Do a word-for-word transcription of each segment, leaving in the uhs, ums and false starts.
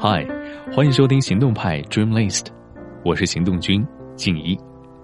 嗨，欢迎收听行动派 Dream List， 我是行动君静怡。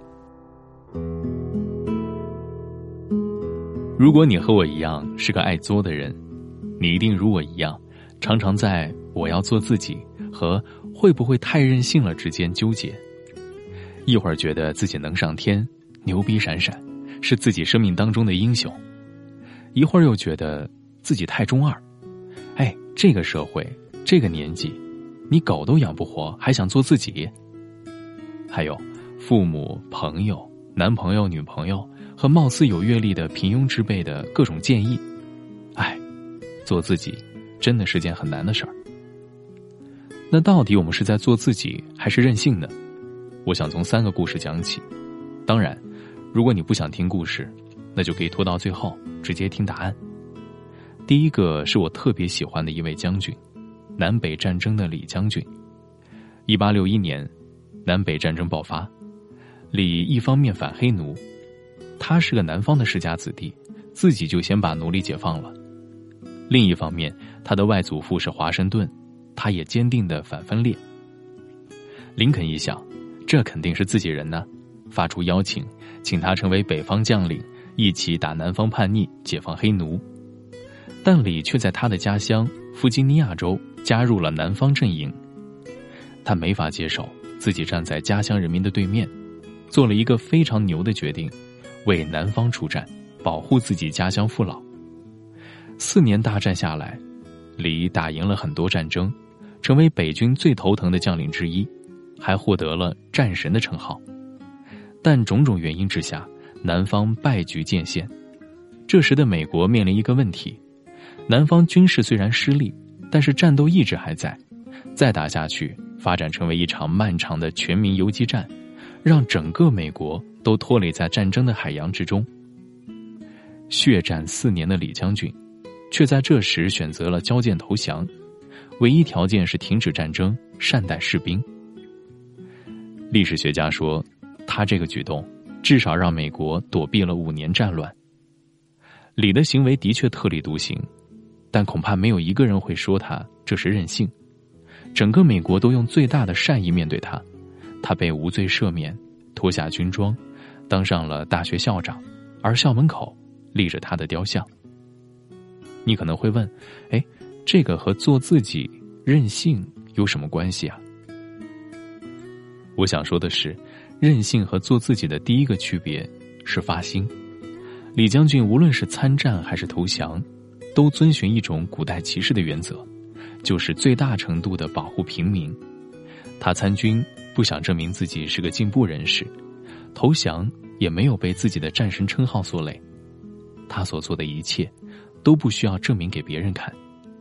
如果你和我一样是个爱作的人，你一定如我一样，常常在我要做自己和会不会太任性了之间纠结。一会儿觉得自己能上天，牛逼闪闪，是自己生命当中的英雄，一会儿又觉得自己太中二。哎，这个社会，这个年纪，你狗都养不活，还想做自己？还有父母、朋友、男朋友、女朋友和貌似有阅历的平庸之辈的各种建议。哎，做自己真的是件很难的事儿。那到底我们是在做自己还是任性呢？我想从三个故事讲起。当然，如果你不想听故事，那就可以拖到最后直接听答案。第一个是我特别喜欢的一位将军，南北战争的李将军。一八六一年，南北战争爆发，李一方面反黑奴，他是个南方的世家子弟，自己就先把奴隶解放了。另一方面，他的外祖父是华盛顿，他也坚定的反分裂。林肯一想，这肯定是自己人呢，发出邀请，请他成为北方将领，一起打南方叛逆，解放黑奴。但李却在他的家乡弗吉尼亚州加入了南方阵营。他没法接受自己站在家乡人民的对面，做了一个非常牛的决定，为南方出战，保护自己家乡父老。四年大战下来，李打赢了很多战争，成为北军最头疼的将领之一，还获得了战神的称号。但种种原因之下，南方败局渐现。这时的美国面临一个问题，南方军事虽然失利，但是战斗意志还在，再打下去发展成为一场漫长的全民游击战，让整个美国都拖累在战争的海洋之中。血战四年的李将军却在这时选择了交剑投降，唯一条件是停止战争，善待士兵。历史学家说，他这个举动至少让美国躲避了五年战乱。李的行为的确特立独行，但恐怕没有一个人会说他这是任性。整个美国都用最大的善意面对他，他被无罪赦免，脱下军装，当上了大学校长，而校门口立着他的雕像。你可能会问，哎，这个和做自己、任性有什么关系啊？我想说的是，任性和做自己的第一个区别是发心。李将军无论是参战还是投降，都遵循一种古代骑士的原则，就是最大程度的保护平民。他参军不想证明自己是个进步人士，投降也没有被自己的战神称号所累。他所做的一切都不需要证明给别人看。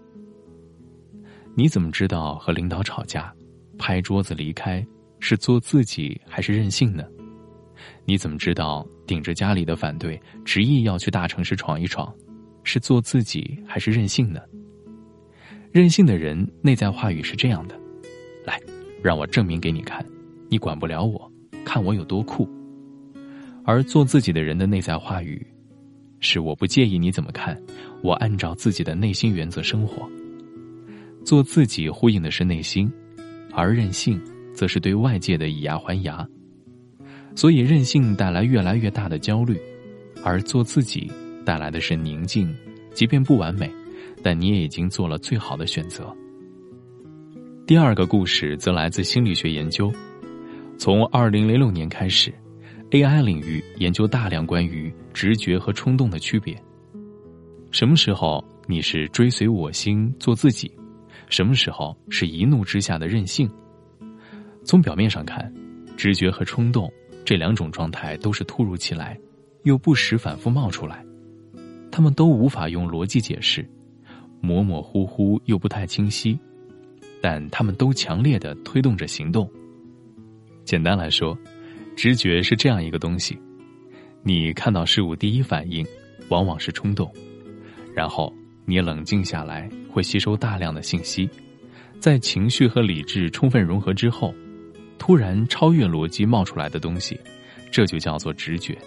你怎么知道和领导吵架，拍桌子离开是做自己还是任性呢？你怎么知道顶着家里的反对，执意要去大城市闯一闯，是做自己还是任性呢？任性的人内在话语是这样的，来，让我证明给你看，你管不了我，看我有多酷。而做自己的人的内在话语是，我不介意你怎么看，我按照自己的内心原则生活。做自己呼应的是内心，而任性则是对外界的以牙还牙。所以任性带来越来越大的焦虑，而做自己带来的是宁静，即便不完美，但你也已经做了最好的选择。第二个故事则来自心理学研究。从二零零六年开始， A I 领域研究大量关于直觉和冲动的区别。什么时候你是追随我心做自己，什么时候是一怒之下的任性。从表面上看，直觉和冲动这两种状态都是突如其来，又不时反复冒出来，他们都无法用逻辑解释，模模糊糊又不太清晰，但他们都强烈地推动着行动。简单来说，直觉是这样一个东西，你看到事物第一反应往往是冲动，然后你冷静下来会吸收大量的信息，在情绪和理智充分融合之后，突然超越逻辑冒出来的东西，这就叫做直觉。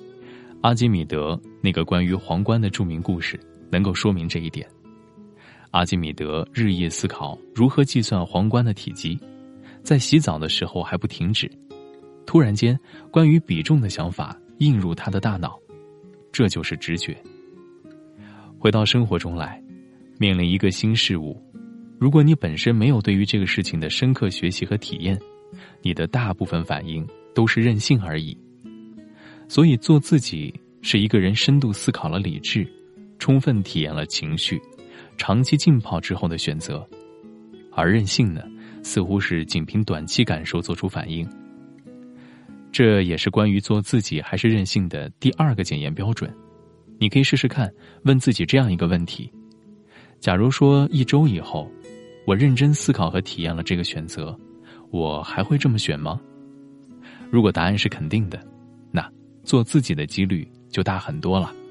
阿基米德那个关于皇冠的著名故事能够说明这一点。 阿基米德日夜思考如何计算皇冠的体积，在洗澡的时候还不停止。突然间，关于比重的想法映入他的大脑，这就是直觉。回到生活中来，面临一个新事物，如果你本身没有对于这个事情的深刻学习和体验，你的大部分反应都是任性而已。所以做自己是一个人深度思考了理智，充分体验了情绪，长期浸泡之后的选择。而任性呢，似乎是仅凭短期感受做出反应。这也是关于做自己还是任性的第二个检验标准。你可以试试看，问自己这样一个问题：假如说一周以后，我认真思考和体验了这个选择，我还会这么选吗？如果答案是肯定的，那做自己的几率就大很多了。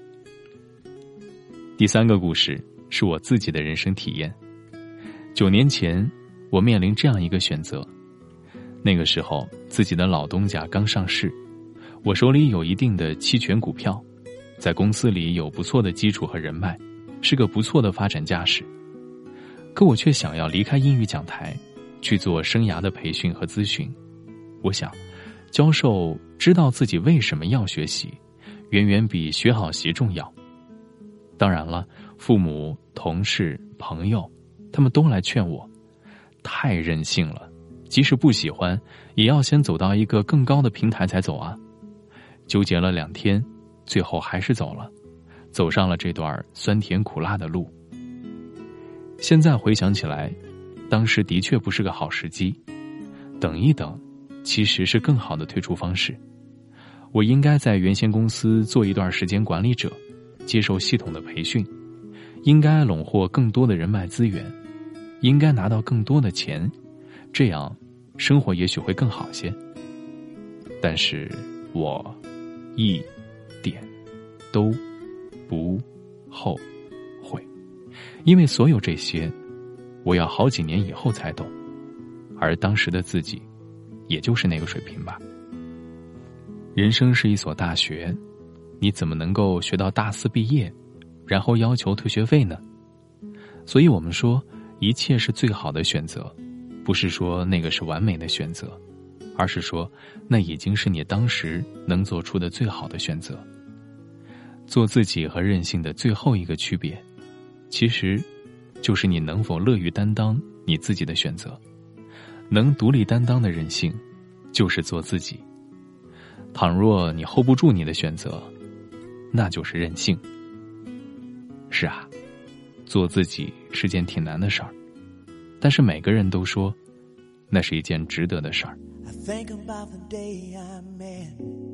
第三个故事是我自己的人生体验。九年前，我面临这样一个选择。那个时候，自己的老东家刚上市，我手里有一定的期权股票，在公司里有不错的基础和人脉，是个不错的发展架势。可我却想要离开英语讲台，去做生涯的培训和咨询。我想，教授知道自己为什么要学习，远远比学好习重要。当然了，父母、同事、朋友，他们都来劝我，太任性了，即使不喜欢，也要先走到一个更高的平台才走啊。纠结了两天，最后还是走了，走上了这段酸甜苦辣的路。现在回想起来，当时的确不是个好时机。等一等，其实是更好的退出方式。我应该在原先公司做一段时间管理者，接受系统的培训，应该笼获更多的人脉资源，应该拿到更多的钱，这样生活也许会更好些。但是我一点都不后悔，因为所有这些我要好几年以后才懂，而当时的自己也就是那个水平吧。人生是一所大学，你怎么能够学到大四毕业，然后要求退学费呢？所以我们说，一切是最好的选择，不是说那个是完美的选择，而是说那已经是你当时能做出的最好的选择。做自己和任性的最后一个区别，其实就是你能否乐于担当你自己的选择。能独立担当的任性，就是做自己。倘若你 hold 不住你的选择，那就是任性。是啊，做自己是件挺难的事儿，但是每个人都说，那是一件值得的事儿。 I think about the day I met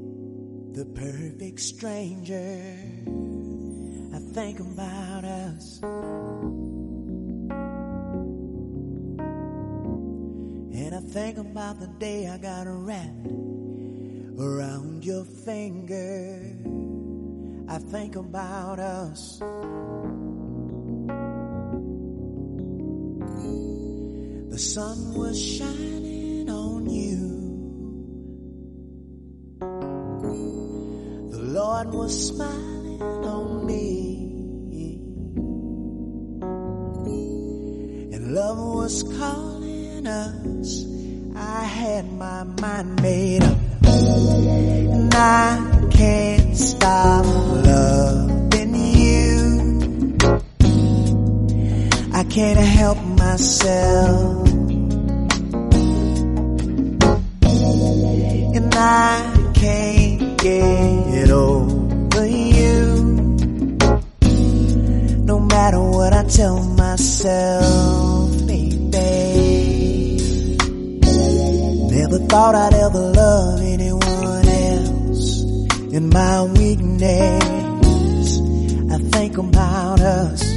the perfect stranger. I think about us, and I think about the day I got wrapped around your finger. I think about us. The sun was shining on you. The Lord was smiling on me. And love was calling us. I had my mind made up. And I can't stop loving you. I can't help myself. And I can't get over you. No matter what I tell myself, baby. Never thought I'd ever love anyone else. In my weakness, I think about us.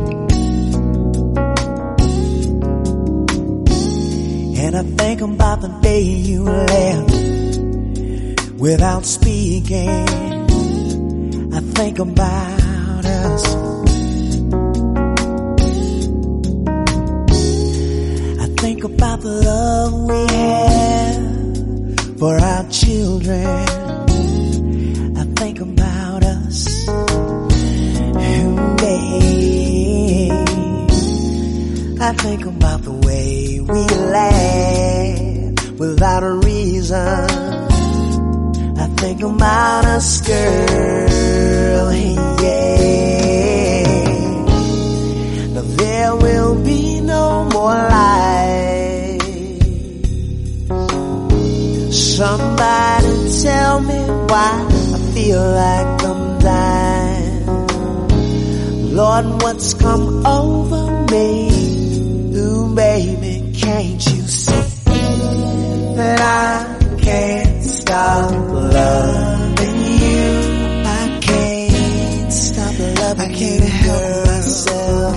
And I think about the day you left without speaking. I think about us. I think about the love we have for our children. I think about us. Babe. think about the way we laugh without a reason. I think about us, girl, hey, yeah. Now there will be no more lies. Somebody tell me why I feel like I'm dying. Lord, what's come over me? Ooh, baby, can't you see that I can't stop loving you? I can't stop loving you. I can't help myself.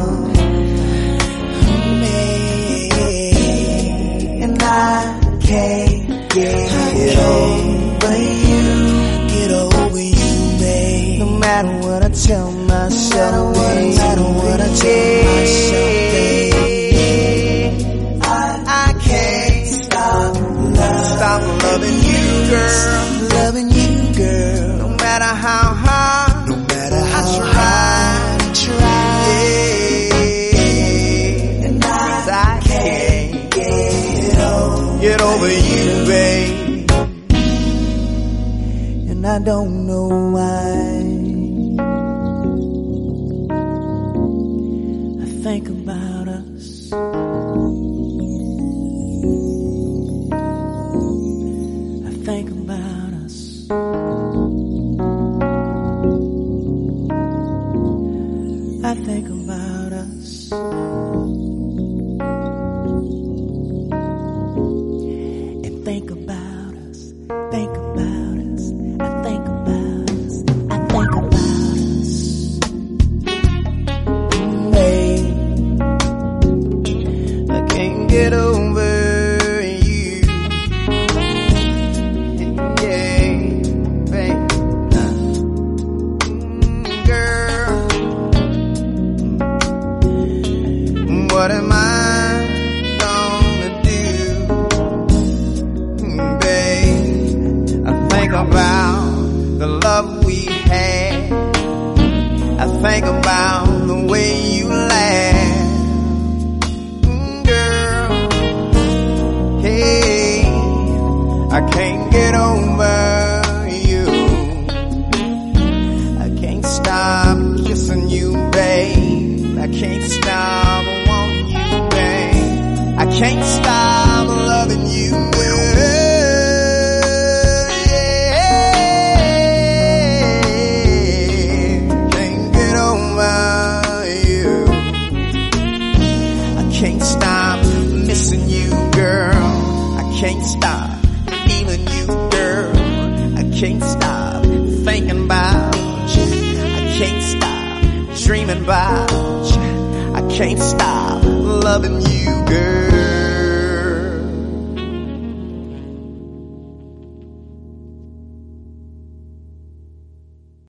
And I can't get over you. Get over you, babe. No matter what I tell myself, no matter what I tell myself, babe. Stop loving you, girl. Loving you, girl. No matter how hard, no matter how I try, I try. Yeah. And I, I can't get over, get over you, babe. And I don't know why. I think about us. Think about us. I think about us. And think about us. Think about us. I think about us. I think about us. Hey, I can't get over. What am I gonna do, babe? I think about the love we had. I think about the way you laugh, girl. Hey, I can't get over you. I can't stop kissing you, babe. I can't stop. I can't stop loving you, girl. Yeah. Can't get over you. I can't stop missing you, girl. I can't stop feeling you, girl. I can't stop thinking about you. I can't stop dreaming about you. I can't stop loving you, girl.